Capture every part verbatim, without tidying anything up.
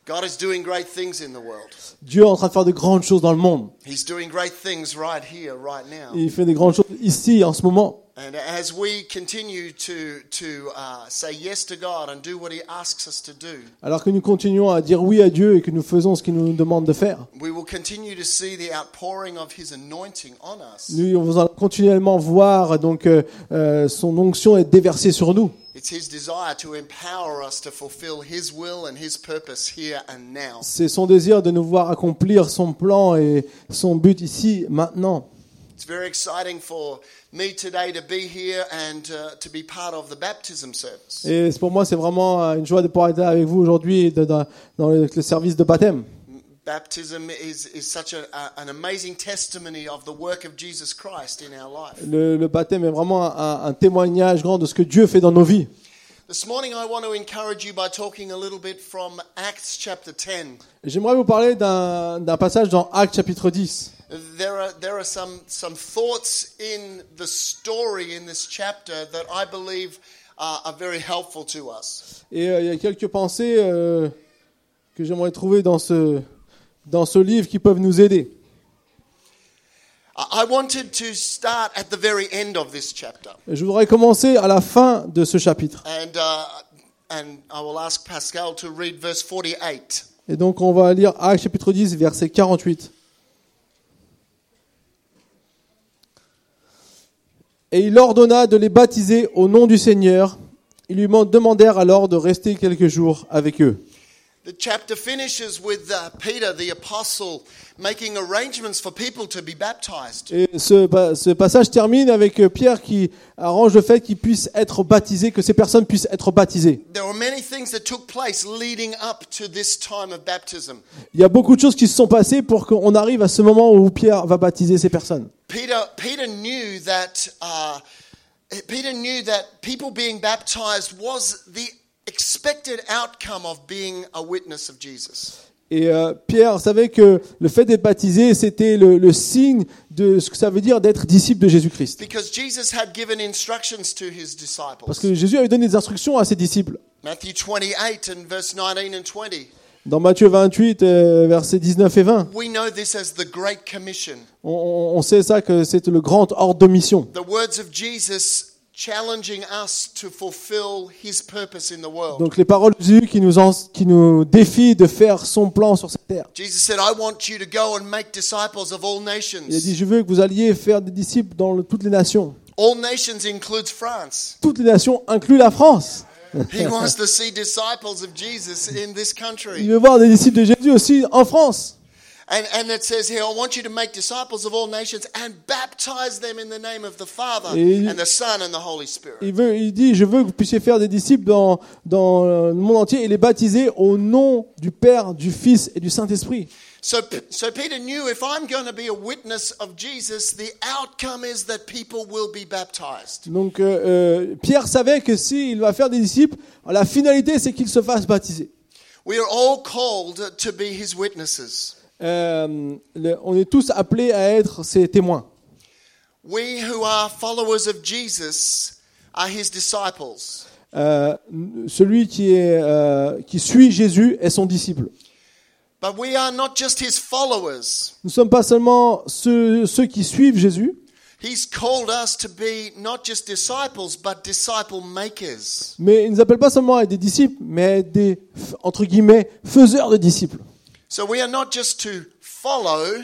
God is doing great things in the world. Dieu est en train de faire de grandes choses dans le monde. He's doing great things right here, right now. Il fait de grandes choses ici, en ce moment. And as we continue to to uh, say yes to God and do what He asks us to do, Alors que nous continuons à dire oui à Dieu et que nous faisons ce qu'il nous demande de faire, we will continue to see the outpouring of His anointing on us. nous allons continuellement voir donc euh, euh, son onction être déversée sur nous. It's His desire to empower us to fulfill His will and His purpose here and now. C'est son désir de nous voir accomplir son plan et son but ici, maintenant. It's very exciting for me today to be here and uh, to be part of the baptism service. Et pour moi, c'est vraiment une joie de pouvoir être avec vous aujourd'hui dans, dans le, le service de baptême. Baptism is, is such a, a, an amazing testimony of the work of Jesus Christ in our life. Le, le baptême est vraiment un, un témoignage grand de ce que Dieu fait dans nos vies. This morning I want to encourage you by talking a little bit from Acts chapter ten. J'aimerais vous parler d'un, d'un passage dans Actes chapitre dix. There are there are some some thoughts in the story in this chapter that I believe uh, are very helpful to us. Et euh, il y a quelques pensées euh, que j'aimerais trouver dans ce dans ce livre qui peuvent nous aider. I wanted to start at the very end of this chapter. Je voudrais commencer à la fin de ce chapitre. And uh, and I will ask Pascal to read verse forty-eight. Et donc on va lire Actes chapitre dix verset quarante-huit. Et il ordonna de les baptiser au nom du Seigneur. Ils lui demandèrent alors de rester quelques jours avec eux. The chapter finishes with uh, Peter, the apostle, making arrangements for people to be baptized. Et ce, ce passage termine avec Pierre qui arrange le fait qu'ils puissent être baptisés, que ces personnes puissent être baptisées. There were many things that took place leading up to this time of baptism. Il y a beaucoup de choses qui se sont passées pour qu'on arrive à ce moment où Pierre va baptiser ces personnes. Peter, Peter knew that uh, Peter knew that people being baptized was the expected outcome of being a witness of Jesus. Et euh, Pierre savait que le fait d'être baptisé, c'était le, le signe de ce que ça veut dire d'être disciple de Jésus-Christ. Because Jesus had given instructions to his disciples. Parce que Jésus avait donné des instructions à ses disciples. Matthew twenty-eight and verse nineteen and twenty. Dans Matthieu vingt-huit, euh, versets dix-neuf et vingt, We know this as the Great Commission. on, on sait ça que c'est le grand ordre de mission. The words of Jesus challenging us to fulfill his purpose in the world. Donc les paroles de Jésus qui nous, en, qui nous défient de faire son plan sur cette terre. Jesus said, I want you to go and make disciples of all nations. Il a dit, je veux que vous alliez faire des disciples dans le- toutes les nations. All nations includes France. Toutes les nations incluent la France. He wants to see disciples of Jesus in this Il country. veut voir des disciples de Jésus aussi en France. And, and it says here, I want you to make disciples of all nations and baptize them in the name of the Father Et- and the Son and the Holy Spirit. Il, veut, il dit, je veux que vous puissiez faire des disciples dans, dans le monde entier et les baptiser au nom du Père, du Fils et du Saint-Esprit. So, so Peter knew if I'm going to be a witness of Jesus, the outcome is that people will be baptized. Donc euh, euh, Pierre savait que s'il va faire des disciples, la finalité c'est qu'ils se fassent baptiser. We are all called to be his witnesses. Euh, le- on est tous appelés à être ses témoins. We who are followers of Jesus are his disciples. Euh, celui qui, est, euh, qui suit Jésus est son disciple. But we are not just his followers. Nous ne sommes pas seulement ceux, ceux qui suivent Jésus, He's called us to be not just disciples, but disciple makers. mais il ne nous appelle pas seulement à être des disciples, mais à être des, entre guillemets, faiseurs de disciples. So we are not just to follow,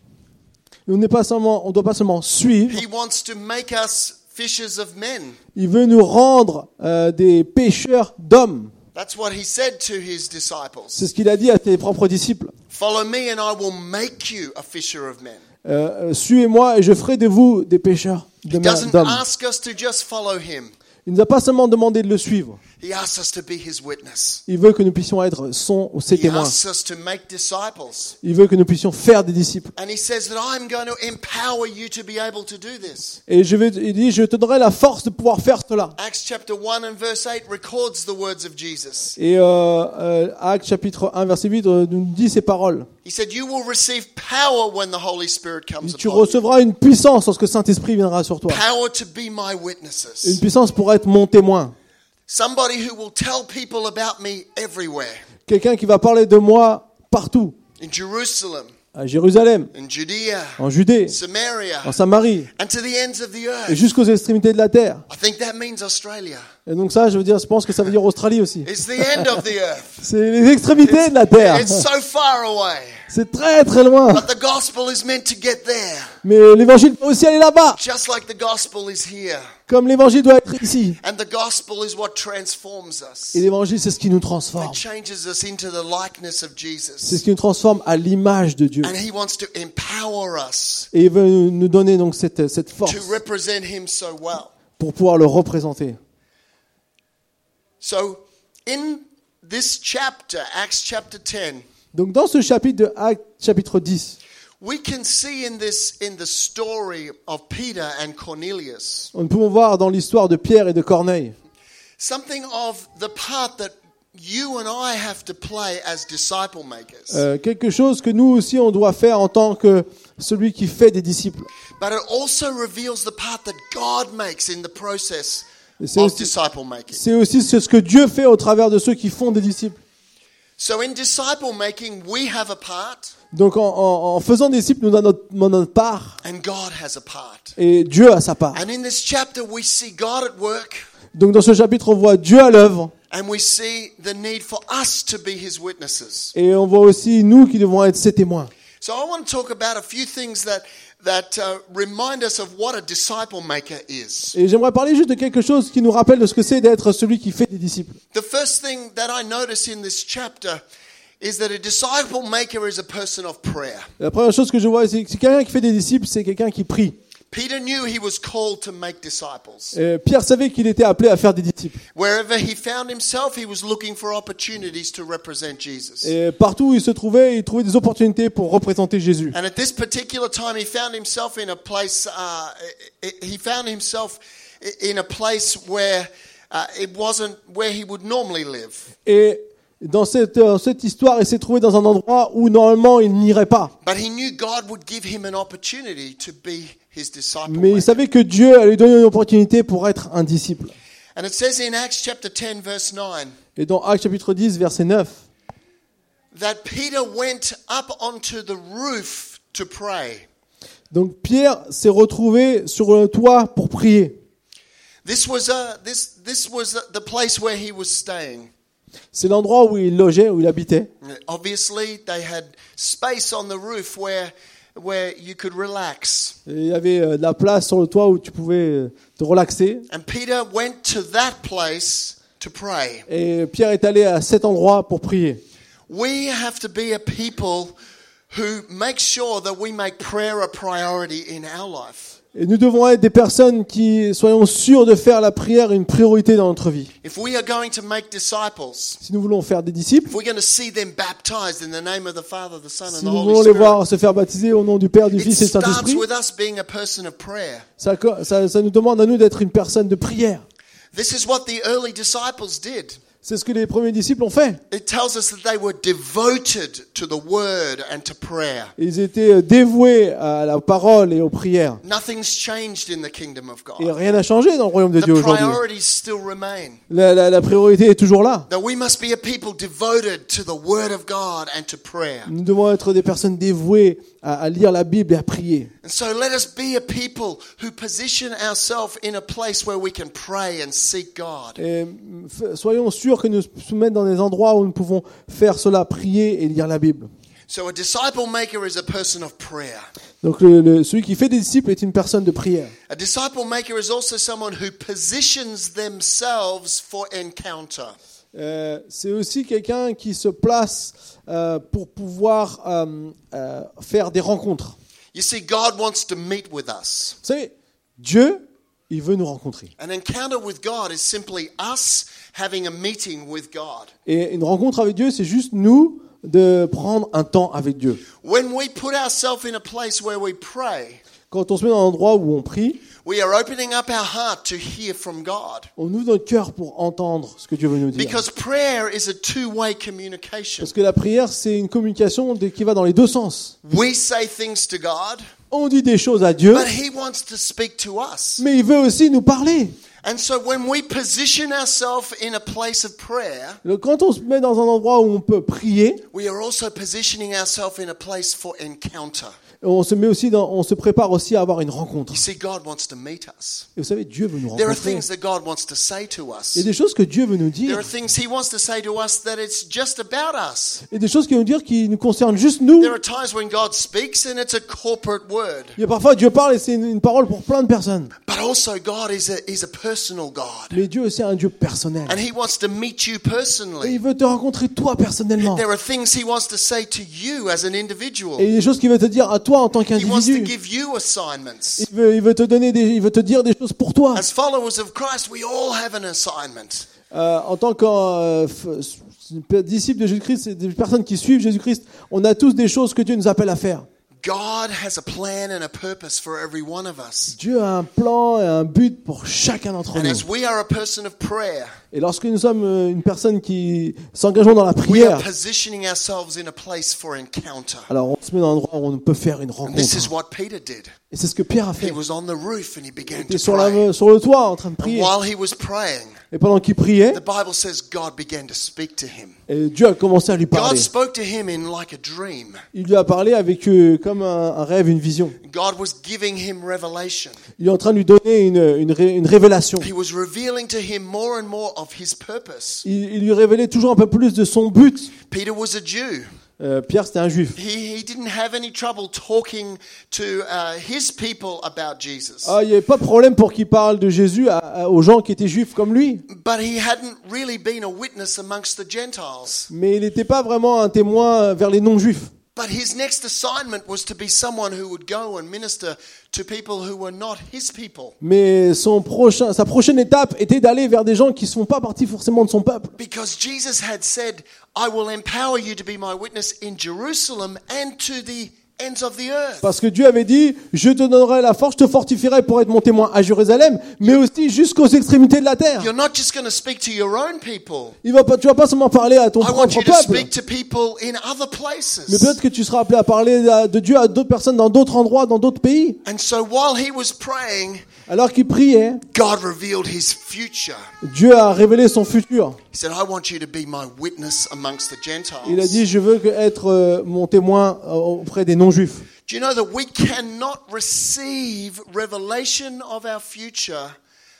On n'est pas seulement, on doit pas seulement suivre. he wants to make us fishers of men. Il veut nous rendre euh, des pêcheurs d'hommes. That's what he said to his disciples. C'est ce qu'il a dit à ses propres disciples. Follow me and I will make you a fisher of men. Euh, euh, Suivez-moi et je ferai de vous des pêcheurs de He ma- doesn't d'hommes. ask us to just follow him. Il nous a pas seulement demandé de le suivre. He asks us to be his witness. Il veut que nous puissions être son ou ses He témoins. asks us to make disciples. Il veut que nous puissions faire des disciples. And he says that I'm going to empower you to be able to do this. Et je vais, il dit, je te donnerai la force de pouvoir faire cela. Acts chapter one and verse eight records the words of Jesus. Et euh, euh, Actes chapitre un verset huit euh, nous dit ces paroles. He said, you will receive power when the Holy Spirit comes Tu upon you. recevras une puissance lorsque le Saint-Esprit viendra sur toi. Power to be my Une witnesses. puissance pour être mon témoin. Somebody who will tell people about me everywhere. quelqu'un qui va parler de moi partout, in Jerusalem, à Jérusalem, in Judea, en Judée, Samaria, en Samarie, and to the ends of the et earth. jusqu'aux extrémités de la terre. I think that means Australia. Et donc ça, je veux dire, je pense que ça veut dire Australie aussi. It's the end of the earth. C'est les extrémités de la terre. It's so far away. C'est très très loin. But the gospel is meant to get there, Mais l'évangile doit aussi aller là-bas, just like the gospel is here. comme l'évangile doit être ici. And the gospel is what transforms us. Et l'évangile, c'est ce qui nous It transforme. changes us into the likeness of C'est Jesus. ce qui nous transforme à l'image de Dieu. And he wants to empower us Et il veut nous donner donc cette, cette force to represent him so well. pour pouvoir le représenter. So, in this chapter, Acts chapter ten, Donc dans ce chapitre de Actes, chapitre dix, we can see in this in the story of Peter and Cornelius nous pouvons voir dans l'histoire de Pierre et de Corneille something of the part that you and I have to play as disciple makers. euh, quelque chose que nous aussi on doit faire en tant que celui qui fait des disciples. But it also reveals the part that God makes in the process Et c'est of aussi, disciple making. c'est aussi ce que Dieu fait au travers de ceux qui font des disciples. So in disciple making, we have a part Donc en, en, en faisant des disciples, nous avons notre, notre part and God has a part. et Dieu a sa part. And in this chapter, we see God at work Donc dans ce chapitre, on voit Dieu à l'œuvre and we see the need for us to be his witnesses. et on voit aussi nous qui devons être ses témoins. So I want to talk about a few things that that uh, remind us of what a disciple maker is. Et j'aimerais parler juste de quelque chose qui nous rappelle de ce que c'est d'être celui qui fait des disciples. The first thing that I notice in this chapter is that a disciple maker is a person of prayer. La première chose que je vois, c'est que quelqu'un qui fait des disciples, c'est quelqu'un qui prie. Peter knew he was called to make disciples. Et Pierre savait qu'il était appelé à faire des disciples. Wherever he found himself, he was looking for opportunities to represent Jesus. Et partout où il se trouvait, il trouvait des opportunités pour représenter Jésus. And at this particular time, he found himself in a place. Uh, he found himself in a place where uh, it wasn't where he would normally live. Et dans cette, euh, cette histoire, il s'est trouvé dans un endroit où normalement il n'irait pas. But he knew God would give him an opportunity to be his disciple. Mais il maker. savait que Dieu allait lui donner une opportunité pour être un disciple. And it says in Acts chapter ten, verse nine, Et dans Actes chapitre dix, verset neuf, that Peter went up onto the roof to pray. donc Pierre s'est retrouvé sur le toit pour prier. This was a, this this was the place where he was staying. C'est l'endroit où il logeait, où il habitait. Obviously, they had space on the roof where where you could relax. Et il y avait euh, de la place sur le toit où tu pouvais euh, te relaxer. And Peter went to that place to pray. Et Pierre est allé à cet endroit pour prier. We have to be a people who make sure that we make prayer a priority in our life. Et nous devons être des personnes qui soyons sûrs de faire la prière une priorité dans notre vie. If we are going to make disciples, Si nous voulons faire des disciples, if we're going to see them baptized in the name of the Father, the Son, and si the nous Holy voulons les Spirit, voir se faire baptiser au nom du Père, du it Fils et du starts Saint-Esprit, with us being a person of prayer. ça, ça, ça nous demande à nous d'être une personne de prière. This is what the early disciples did. C'est ce que les premiers disciples ont fait. It tells us that they were devoted to the word and to prayer. Ils étaient dévoués à la parole et aux prières. Nothing's changed in the kingdom of Et God. rien n'a changé dans le royaume de The Dieu aujourd'hui. priorities still remain. La, la, la priorité est toujours là. That we must be a people devoted to the word of God and to prayer. Nous devons être des personnes dévouées à, à lire la Bible et à prier. And so let us be a people who position ourselves in a place where we can pray and seek God. Et f- soyons sûrs que nous nous mettons dans des endroits où nous pouvons faire cela, prier et lire la Bible. So a disciple maker is a person of prayer. Donc le, le- celui qui fait des disciples est une personne de prière. A disciple maker is also someone who positions themselves for encounter. Euh, c'est aussi quelqu'un qui se place euh, pour pouvoir euh, euh, faire des rencontres. You see, God wants to meet with us. Vous savez, Dieu, il veut nous rencontrer. An encounter with God is simply us having a meeting with God. Et une rencontre avec Dieu, c'est juste nous de prendre un temps avec Dieu. When we put ourselves in a place where we pray, Quand on se met dans un endroit où on prie, we are opening up our heart to hear from God. on ouvre notre cœur pour entendre ce que Dieu veut nous dire. Because prayer is a two-way communication. Parce que la prière, c'est une communication de- qui va dans les deux sens. We say things to God, On dit des choses à Dieu, but He wants to speak to us. mais il veut aussi nous parler. And so when we position ourselves in a place of prayer, Donc, quand on se met dans un endroit où on peut prier, we are also positioning ourselves in a place for encounter. on se met aussi dans, on se prépare aussi à avoir une rencontre. You see, God wants to meet us. Et vous savez, Dieu veut nous There are rencontrer. things that God wants to say to us. Il y a des choses que Dieu veut nous There dire. are things He wants to say to us that it's just about us. Il y a des choses qu'il veut nous dire qui nous concernent juste nous. There are times when God speaks and it's a corporate word. Il y a parfois Dieu parle et c'est une, une parole pour plein de personnes. But also God is a, is a personal God. Mais Dieu aussi est un Dieu personnel. And He wants to meet you Et personally. il veut te rencontrer toi personnellement. There are things He wants to say to you as an individual. Et il y a des choses qu'il veut te dire à toi en tant He wants to qu'individu. give you assignments. Il veut, il veut te donner des, il veut te dire des choses pour toi. As followers of Christ, we all have an assignment. Euh, en tant que euh, f- disciples de Jésus-Christ, c'est des personnes qui suivent Jésus-Christ, on a tous des choses que Dieu nous appelle à faire. God has a plan and a purpose for every one of us. Dieu a un plan et un but pour chacun d'entre And nous. as we are a person of prayer, Et lorsque nous sommes euh, une personne qui s'engageons dans la we are prière, positioning ourselves in a place for encounter. alors on se met dans un endroit où on peut faire une And this is rencontre. what Peter did. Et c'est ce que Pierre a He fait. was on the roof and he began Il était to sur, pray. la, sur le toit en train de And prier. while he was praying, Et pendant qu'il priait, the Bible says God began to speak to him. et Dieu a commencé à lui God parler. spoke to him in like a dream. Il lui a parlé avec euh, comme un, un rêve, une vision. God was giving him revelation. Il est en train de lui donner une, une, ré- une révélation. He was revealing to him more and more of his purpose. Il, il lui révélait toujours un peu plus de son but. Peter was a Jew. Euh, Pierre, c'était un juif. He, he didn't have any trouble talking to uh, his people about Jesus. Ah, il n'y avait pas de problème pour qu'il parle de Jésus à- à- aux gens qui étaient juifs comme lui. But he hadn't really been a witness amongst the Gentiles. Mais il n'était pas vraiment un témoin vers les non-juifs. But his next assignment was to be someone who would go and minister to people who were not his people. Mais son prochain, sa prochaine étape était d'aller vers des gens qui ne sont pas partis forcément de son peuple. Because Jesus had said, I will empower you to be my witness in Jerusalem and to the ends of the earth. Parce que Dieu avait dit, je te donnerai la force, je te fortifierai pour être mon témoin à Jérusalem, mais aussi jusqu'aux extrémités de la terre. You're not just going to speak to your own people. Il va pas, tu vas pas seulement parler à ton I want propre you to peuple, speak to people in other mais places. peut-être que tu seras appelé à parler à- de Dieu à d'autres personnes dans d'autres endroits, dans d'autres pays. And so while he was praying, Alors qu'il priait, God revealed his future. Dieu a révélé son futur. He said, I want you to be my witness amongst the Gentiles. Il a dit, je veux que- être euh, mon témoin euh, auprès des non-juifs. Do you know that we cannot receive revelation of our future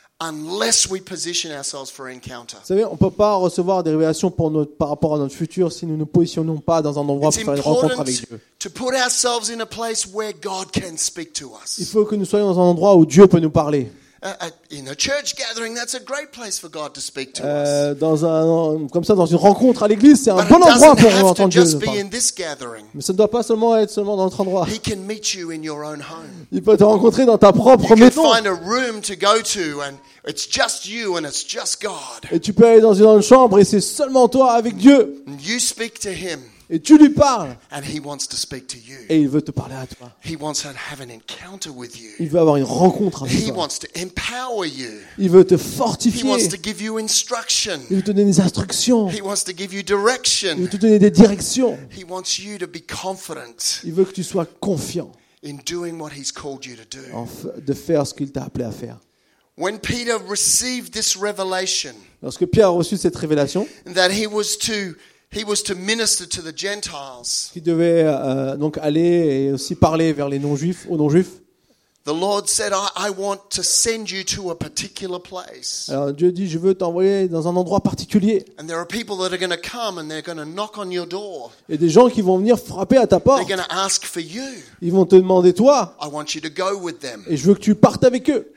unless we position ourselves for encounter? Vous savez, on ne peut pas recevoir des révélations pour notre, par rapport à notre futur si nous ne nous positionnons pas dans un endroit It's pour faire une rencontre important avec Dieu. to put ourselves in a place where God can speak to Il us. faut que nous soyons dans un endroit où Dieu peut nous parler. Uh, uh, in a church gathering, that's a great place for God to speak to us. Euh, dans un, comme ça, dans une rencontre à l'église, c'est un But bon it endroit doesn't pour have to entendre Dieu just nous be parler. in this gathering. Mais ça ne doit pas seulement être seulement dans notre endroit. He can meet you in your own home. Il peut te rencontrer dans ta propre You can maison. find a room to go to and it's just you and it's just God. Et tu peux aller dans une chambre et c'est seulement toi avec Dieu. And you speak to him Et tu lui parles. and he wants to speak to you. Et il veut te parler à toi. He wants to have an encounter with you. Il veut avoir une rencontre avec He toi. wants to empower you. Il veut te He fortifier. wants to give you instruction. Il veut te donner des instructions. He wants to give you Il direction. veut te donner des directions. He wants you to be confident Il veut que tu sois confiant in doing what he's called you to do. en f- de faire ce qu'il t'a appelé à faire. When Peter received this revelation Lorsque Pierre a reçu cette révélation, that he was to he was to minister to the Gentiles, qu'il devait euh, donc aller et aussi parler vers les non-juifs, aux non-juifs, the Lord said, I, I want to send you to a particular place. alors Dieu dit, je veux t'envoyer dans un endroit particulier. And there are people that are going to come and they're going to knock on your door. Et des gens qui vont venir frapper à ta They're porte. going to ask for you. Ils vont te demander toi, I want you to go with them. et je veux que tu partes avec eux.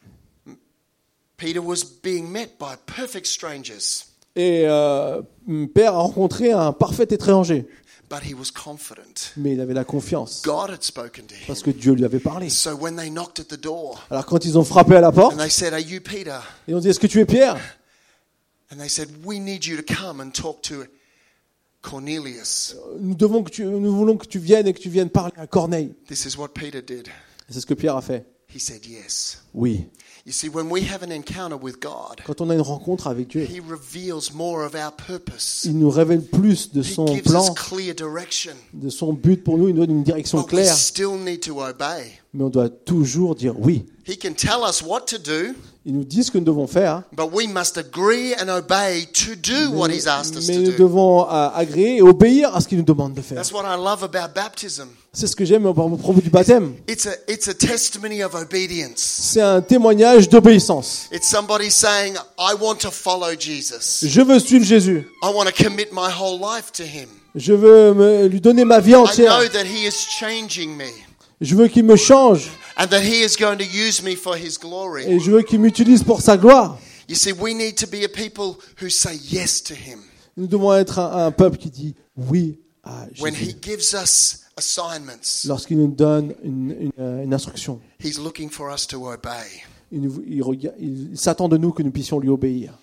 Peter was being met by perfect strangers, Et euh, Père a rencontré un parfait étranger, but he was confident. mais il avait la confiance God had spoken to him. parce que Dieu lui avait parlé. So when they knocked at the door Alors quand ils ont frappé à la porte, and they said, Are you Peter? ils ont dit, est-ce que tu es Pierre? And they said, We need you to come and talk to Cornelius. Nous, devons que tu, nous voulons que tu viennes et que tu viennes parler à Corneille. This is what Peter did. Et c'est ce que Pierre a fait. He said yes. Oui. You see, when we have an encounter with God, Quand on a une rencontre avec Dieu, He reveals more of our purpose. il nous révèle plus de He son gives us plan, clear direction. de son but pour nous. Il nous donne une direction But we claire. still need to obey. Mais on doit toujours dire oui. He can tell us what to do, Il nous dit ce que nous devons faire, but we must agree and obey to do what He's asked us mais to nous do. devons euh, agréer et obéir à ce qu'il nous demande de faire. That's what I love about baptism. C'est ce que j'aime au propos du baptême. It's a, it's a testimony of obedience. C'est un témoignage d'obéissance. It's somebody saying, I want to follow Jesus. Je veux suivre Jésus. I want to commit my whole life to Him. Je veux me- lui donner ma vie I entière. know that He is changing me Je veux qu'il me change and that He is going to use me for His glory. et je veux qu'il m'utilise pour sa gloire. You see, we need to be a people who say yes to Him. Nous devons être un, un peuple qui dit oui à When He Jésus. gives us assignments, Lorsqu'il nous donne une, une, euh, une instruction, He's looking for us to obey. il, nous- il rega- il- il s'attend de nous que nous puissions lui obéir.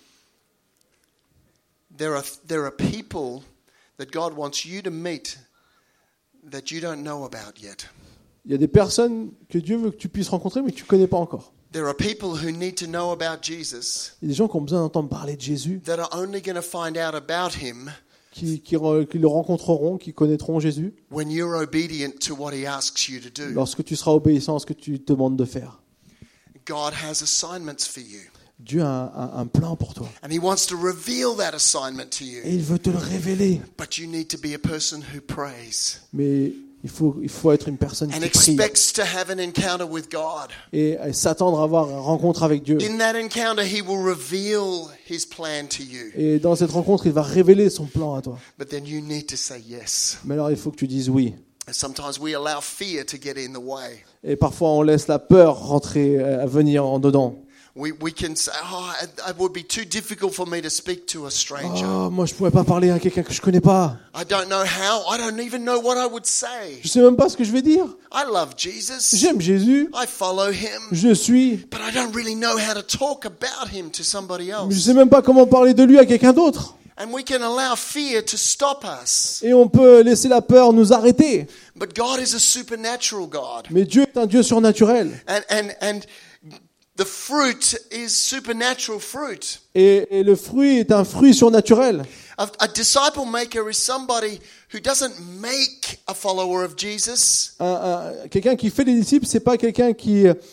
There are, there are people that God wants you to meet that you don't know about yet. Il y a des personnes que Dieu veut que tu puisses rencontrer mais que tu ne connais pas encore. There are people who need to know about Jesus Il y a des gens qui ont besoin d'entendre parler de Jésus, that are only going to find out about Him qui, qui, re- qui le rencontreront, qui connaîtront Jésus when you're obedient to what He asks you to do. lorsque tu seras obéissant à ce que tu te demandes de faire. God has assignments for you, Dieu a un, un- un plan pour toi and He wants to reveal that assignment to et you. il veut te le révéler. But you need to be a person who prays Mais il faut, il faut être une personne and qui prie expects to have an encounter with God. et, et s'attendre à avoir une rencontre avec Dieu. In that encounter, He will reveal His plan to you. Et dans cette rencontre, il va révéler son plan à toi. But then you need to say yes. Mais alors, il faut que tu dises oui. And sometimes we allow fear to get in the way. Et parfois, on laisse la peur rentrer, euh, venir en dedans. We, we can say, oh, it, it would be too difficult for me to speak to a stranger. Oh, moi, je pourrais pas parler à quelqu'un que je connais pas. I don't know how. I don't even know what I would say. Je sais même pas ce que je vais dire. I love Jesus. J'aime Jésus. I follow Him. Je suis. But I don't really know how to talk about Him to somebody Mais je else. sais même pas comment parler de lui à quelqu'un d'autre. And we can allow fear to stop us. Et on peut laisser la peur nous arrêter. But God is a supernatural God. Mais Dieu est un Dieu surnaturel. And, and, and the fruit is supernatural fruit. Et, et le fruit est un fruit surnaturel. A, a disciple maker is somebody who doesn't make a follower of Jesus. Un- un- quelqu'un qui fait des disciples, c'est pas quelqu'un qui. euh,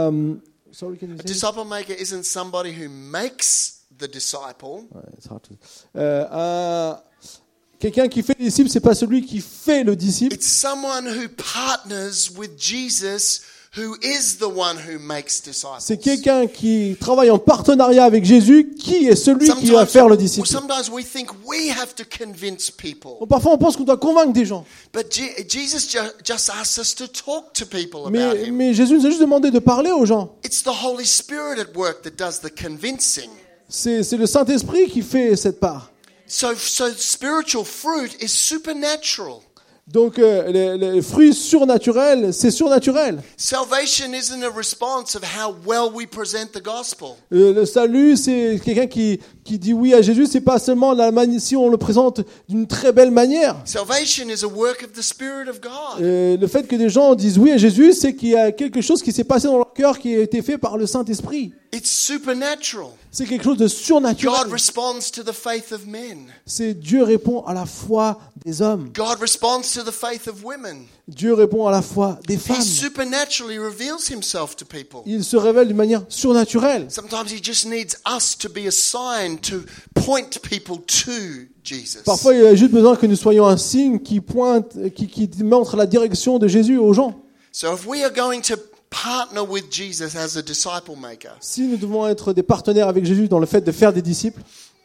sorry, can you A say it? disciple maker isn't somebody who makes the disciple. Ouais, it's hard to- Euh, un- quelqu'un qui fait des disciples, c'est pas celui qui fait le disciple. It's someone who partners with Jesus, who is the one who makes disciples. C'est quelqu'un qui travaille en partenariat avec Jésus, qui est celui qui va faire le disciple. sometimes we think we have to convince people. Bon, parfois, on pense qu'on doit convaincre des gens. But Je- Jesus ju- just asks us to talk to people about Mais, Him. mais Jésus nous a juste demandé de parler aux gens. It's the Holy Spirit at work that does the convincing. C'est, c'est le Saint-Esprit qui fait cette part. So, so spiritual fruit is supernatural. Donc, euh, les, les fruits surnaturels, c'est surnaturel. Salvation isn't a response of how well we present the gospel. Euh, le salut, c'est quelqu'un qui, qui dit oui à Jésus. C'est pas seulement la mani- si on le présente d'une très belle manière. Salvation is a work of the Spirit of God. Euh, le fait que des gens disent oui à Jésus, c'est qu'il y a quelque chose qui s'est passé dans leur cœur qui a été fait par le Saint-Esprit. It's supernatural. C'est quelque chose de God surnaturel. responds to the faith of men. C'est Dieu répond à la foi des hommes. God responds to the faith of women. Dieu répond à la foi des He femmes. supernaturally reveals Himself to people. Il se révèle d'une manière surnaturelle. Sometimes He just needs us to be a sign to point people to Jesus. Parfois, il y a juste besoin que nous soyons un signe qui pointe, qui, qui montre la direction de Jésus aux gens. So if we are going to partner with Jesus as a disciple maker, Si nous devons être des partenaires avec Jésus dans le fait de faire des disciples,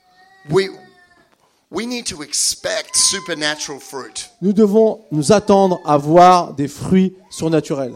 we we need to expect supernatural fruit. nous devons nous attendre à voir des fruits surnaturels.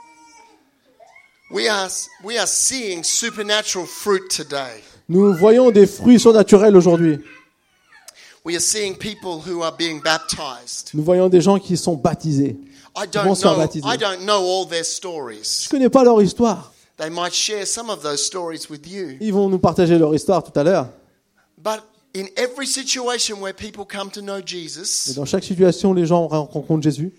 We are we are seeing supernatural fruit today. Nous voyons des fruits surnaturels aujourd'hui. We are seeing people who are being baptized. Nous voyons des gens qui sont baptisés. I Ils vont don't se faire know baptiser. I don't know all their Je stories. ne connais pas leur histoire. They might share some of those stories with you. Ils vont nous partager leur histoire tout à l'heure. But in every situation where people come to know Et Jesus, dans chaque situation, les gens rencontrent Jésus.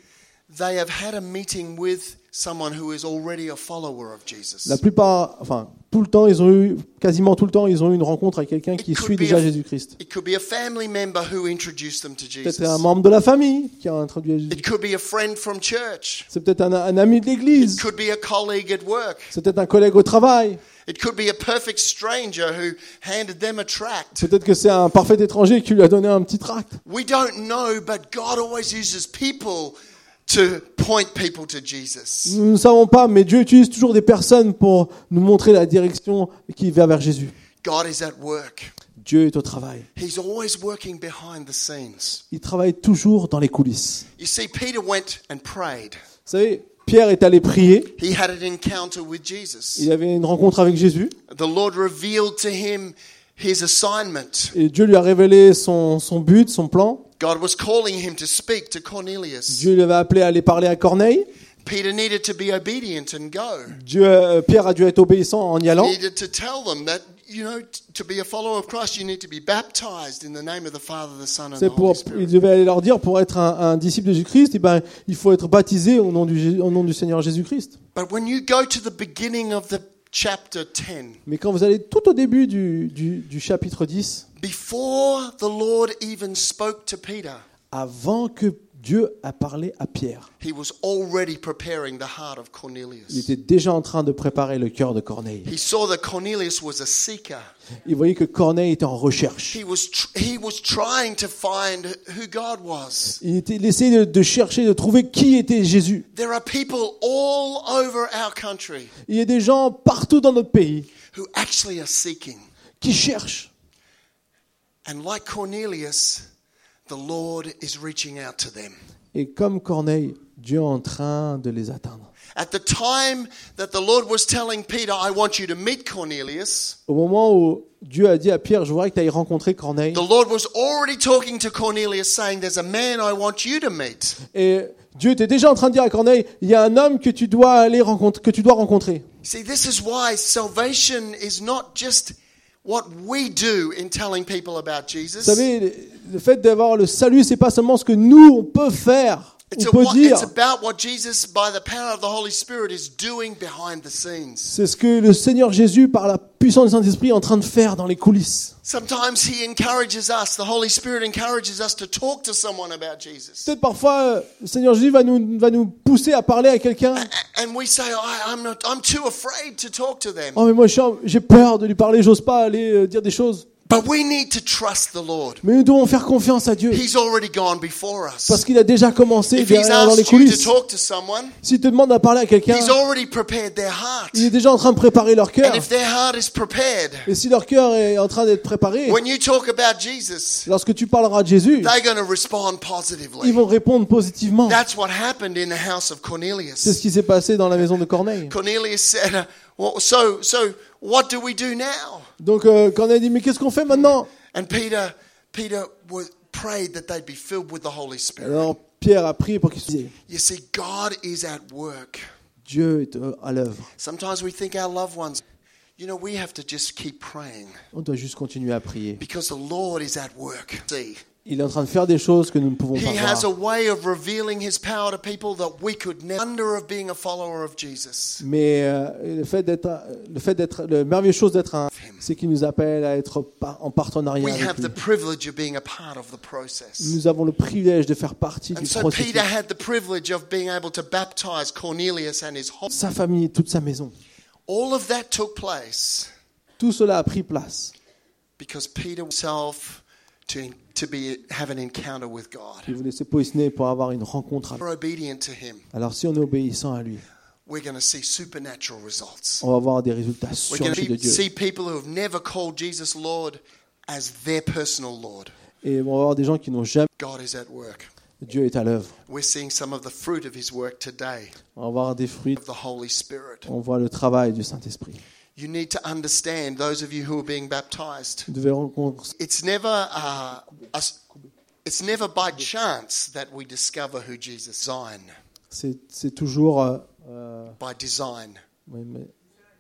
they have had a meeting with someone who is already a follower of Jesus. La plupart, enfin, tout le temps, ils ont eu, quasiment tout le temps, ils ont eu une rencontre avec quelqu'un qui It could suit be déjà a- Jésus-Christ. It could be a family member who introduced them to Peut-être Jesus. un membre de la famille qui a introduit à Jésus. It could be a friend from church. C'est peut-être un, un ami de l'église. It could be a colleague at work. C'est peut-être un collègue au travail. It could be a perfect stranger who handed them a tract. Peut-être que c'est un parfait étranger qui lui a donné un petit tract. We don't know, but God always uses people to point people to Jesus. Nous ne savons pas, mais Dieu utilise toujours des personnes pour nous montrer la direction qui va vers Jésus. God is at work. Dieu est au travail. He's always working behind the scenes. Il travaille toujours dans les coulisses. You see, Peter went and prayed. Vous savez, Pierre est allé prier. He had an encounter with Jesus. Il avait une rencontre avec Jésus. The Lord revealed to him his assignment. Et Dieu lui a révélé son, son but, son plan. God was calling him to speak to Cornelius. Dieu l'avait appelé à aller parler à Corneille. Peter needed to be obedient and go. Dieu, euh, Pierre a dû être obéissant en y He allant. needed to tell them that, you know, t- to be a follower of Christ, you need to be baptized in the name of the Father, the Son, and the C'est pour, Holy il Spirit. devait aller leur dire, pour être un, un disciple de Jésus-Christ, eh ben, il faut être baptisé au nom du, Jé- au nom du Seigneur Jésus-Christ. But when you go to the beginning of the chapter ten, Mais quand vous allez tout au début du, du, du chapitre dix, before the Lord even spoke to Peter, avant que Dieu a parlé à Pierre, he was already preparing the heart of il Cornelius. était déjà en train de préparer le cœur de Corneille. He saw that Cornelius was a seeker. Il voyait que Corneille était en recherche. He was tr- he was trying to find who God was. Il, était, il essayait de, de chercher, de trouver qui était Jésus. There are people all over our country Il y a des gens partout dans notre pays who actually are seeking. qui cherchent. And like Cornelius, the Lord is reaching out to them. Et comme Corneille, Dieu est en train de les atteindre. At the time that the Lord was telling Peter, I want you to meet Cornelius, Au moment où Dieu a dit à Pierre, je voudrais que tu ailles rencontrer Corneille. the Lord was already talking to Cornelius saying, there's a man I want you to meet. Et Dieu était déjà en train de dire à Corneille, il y a un homme que tu dois aller rencontrer, que tu dois rencontrer. See, this is why salvation is not just what we do in telling people about Vous Jesus. savez, le fait d'avoir le salut, c'est pas seulement ce que nous on peut faire, It's, on a, peut what, dire. it's about what Jesus, by the power of the Holy Spirit, is doing behind the scenes. C'est ce que le Seigneur Jésus, par la puissance du Saint-Esprit, est en train de faire dans les coulisses. Sometimes He encourages us, the Holy Spirit encourages us to talk to someone about Jesus. Peut-être parfois, euh, le Seigneur Jésus va nous, va nous pousser à parler à quelqu'un. A- And we say, I, I'm, not, I'm too afraid to talk to them. Oh mais moi je suis en- j'ai peur de lui parler, j'ose pas aller euh, dire des choses. But we need to trust the Lord. Mais nous devons faire confiance à Dieu. He's already gone before us. Parce qu'il a déjà commencé If He's derrière dans les asked you to coulisses. talk to someone, S'il te demande à parler à quelqu'un, He's already prepared their heart. il est déjà en train de préparer leur cœur. And if their heart is prepared, Et si leur cœur est en train d'être préparé, when you talk about Jesus, lorsque tu parleras de Jésus, they're going to respond ils positively. vont répondre positivement. That's what happened in the house of C'est ce Cornelius. qui s'est passé dans la maison de Corneille. Cornelius said, uh, well, so, so what do we do now? Donc euh, Corneille dit, mais qu'est-ce qu'on fait maintenant? And Peter, Peter was, prayed that they'd be filled with the Holy Spirit. Alors Pierre a prié pour qu'il se dise, You see, God is at work. Dieu est euh, à l'œuvre. Sometimes we think our loved ones, you know, we have to just keep praying On doit juste continuer à prier. because the Lord is at work. See, Il est en train de faire des choses que nous ne pouvons pas He has a voir. way of revealing His power to people that we could never under of being a follower of Jesus. Mais euh, le fait d'être, le fait d'être, la merveilleuse chose d'être un, c'est qu'il nous appelle à être par- en partenariat We avec have the lui. privilege of being a part of the process. Nous avons le privilège de faire partie And du so processus. Peter had the privilege of being able to baptize Cornelius and his whole. Sa famille et toute sa maison. All of that took place Tout cela a pris place. because Peter himself to, to be have an encounter with God. Il voulait se positionner pour avoir une rencontre avec We're obedient to Him. Alors si on est obéissant à lui, We're going to see supernatural results. on va avoir des résultats We're going surnaturels de to Dieu. see people who have never called Jesus Lord as their personal Lord. Et on va avoir des gens qui n'ont jamais... God is at work. Dieu est à l'œuvre. We're seeing some of the fruit of His work today, On va avoir des fruits. of the Holy Spirit. On voit le travail du Saint-Esprit. You need to understand, those of you who are being baptized, Vous devez rencontrer... it's never, uh, us, it's never by chance that we discover who Jesus is. Design. C'est, c'est toujours... euh, euh, By design. oui, mais-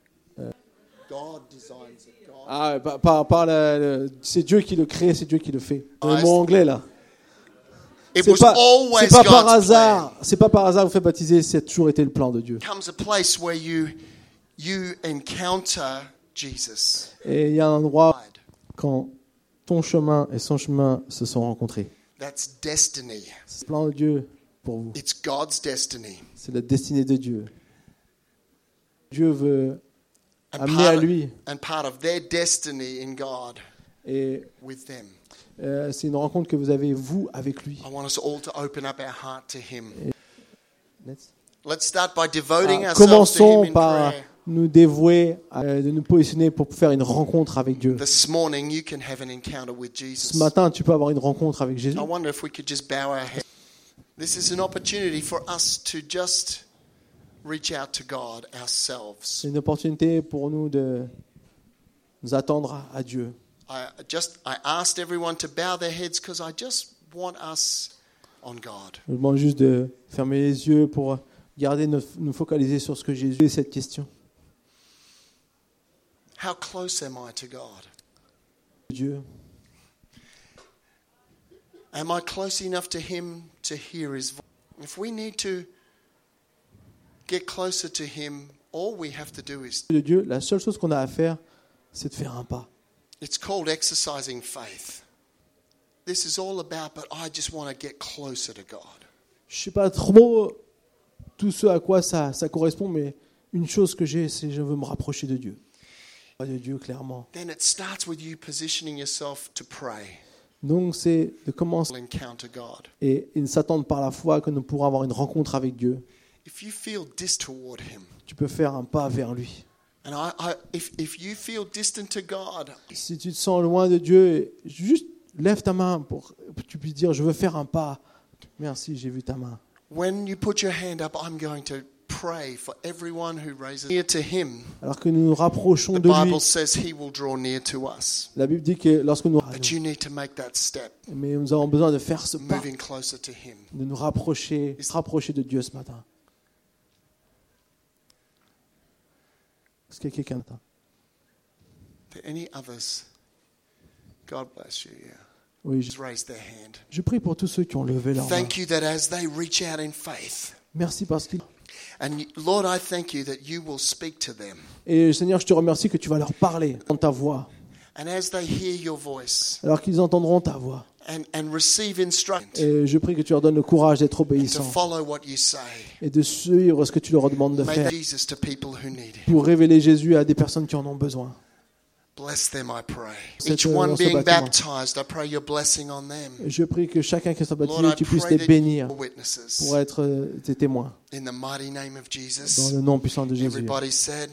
God designs it. God. Ah, par, par, par la- le- c'est Dieu qui le crée, c'est Dieu qui le fait. C'est le Ah, mot anglais là. It C'est was pas, always c'est pas par God's hasard. C'est pas par hasard que vous faites baptiser. C'est toujours été le plan de Dieu. plan. Comes a place where you you encounter Jesus. Et il y a un endroit quand ton chemin et son chemin se sont rencontrés. That's destiny. C'est le plan de Dieu pour vous. It's God's destiny. C'est la destinée de Dieu. Dieu veut And amener à part, of, lui. and part of their destiny in God Et with them. euh, c'est une rencontre que vous avez, vous, avec lui. I want us all to open up our heart to Him. Let's- Let's start by devoting Ah, ourselves to Him commençons in par prayer. nous dévouer, à- de nous positionner pour faire une rencontre avec Dieu. This morning, you can have an encounter with Jesus. Ce matin, tu peux avoir une rencontre avec Jésus. I wonder if we could just bow our heads. This is an opportunity for us to just reach out to God ourselves. C'est une opportunité pour nous de nous attendre à Dieu. I just I asked everyone to bow their heads because I just want us on God. Je vous demande juste de fermer les yeux pour garder nos- nous focaliser sur ce que Jésus est cette question. How close am I to God? Dieu, Am I close enough to Him to hear His voice? If we need to get closer to Him, all we have to do is, de Dieu, la seule chose qu'on a à faire, c'est de faire un pas. it's called exercising faith. This is all about, but I just want to get closer to God. Je sais pas trop tout ce à quoi ça, ça correspond, mais une chose que j'ai, c'est que je veux me rapprocher de Dieu. Pas de Dieu, clairement. Then it starts with you positioning yourself to pray, Donc, c'est de commencer encounter God. et, et de s'attendre par la foi que nous pourrons avoir une rencontre avec Dieu. If you feel dis toward Him, Tu peux faire un pas vers lui. and I, I if if you feel distant to God, Si tu te sens loin de Dieu, juste lève ta main pour que tu puisses dire, je veux faire un pas. Merci, j'ai vu ta main. when you put your hand up, I'm going to pray for everyone who raises near to Him. Alors que nous nous rapprochons The de lui, Bible says He will draw near to us. la Bible dit que lorsque nous... But you need to make that step, Mais nous avons besoin de faire ce pas, moving closer to Him. de nous rapprocher, se rapprocher de Dieu ce matin. Est-ce qu'il y a quelqu'un là? Are there any others? God bless you. Yeah. Oui, je, Just raise their hand. je prie pour tous ceux qui ont levé leur main. Thank you that as they reach out in faith, Merci parce qu'ils... and you- Lord, I thank you that you will speak to them. Et Seigneur, je te remercie que tu vas leur parler dans ta voix. And as they hear your voice Alors qu'ils entendront ta voix. and, and receive instruction Et je prie que tu leur donnes le courage d'être to obéissants follow what you say, et de suivre ce que tu leur demandes de make faire Jesus to people who need Him. pour révéler Jésus à des personnes qui en ont besoin. Bless them, I pray. Cette, Each euh, one dans ce being bâtiment. baptized, I pray your blessing on them. Et je prie que chacun qui soit Lord, baptisé, I tu puisses pray les that bénir you're witnesses. pour être euh, tes témoins. In the mighty name of Dans Jesus, le nom puissant de Jésus. everybody said,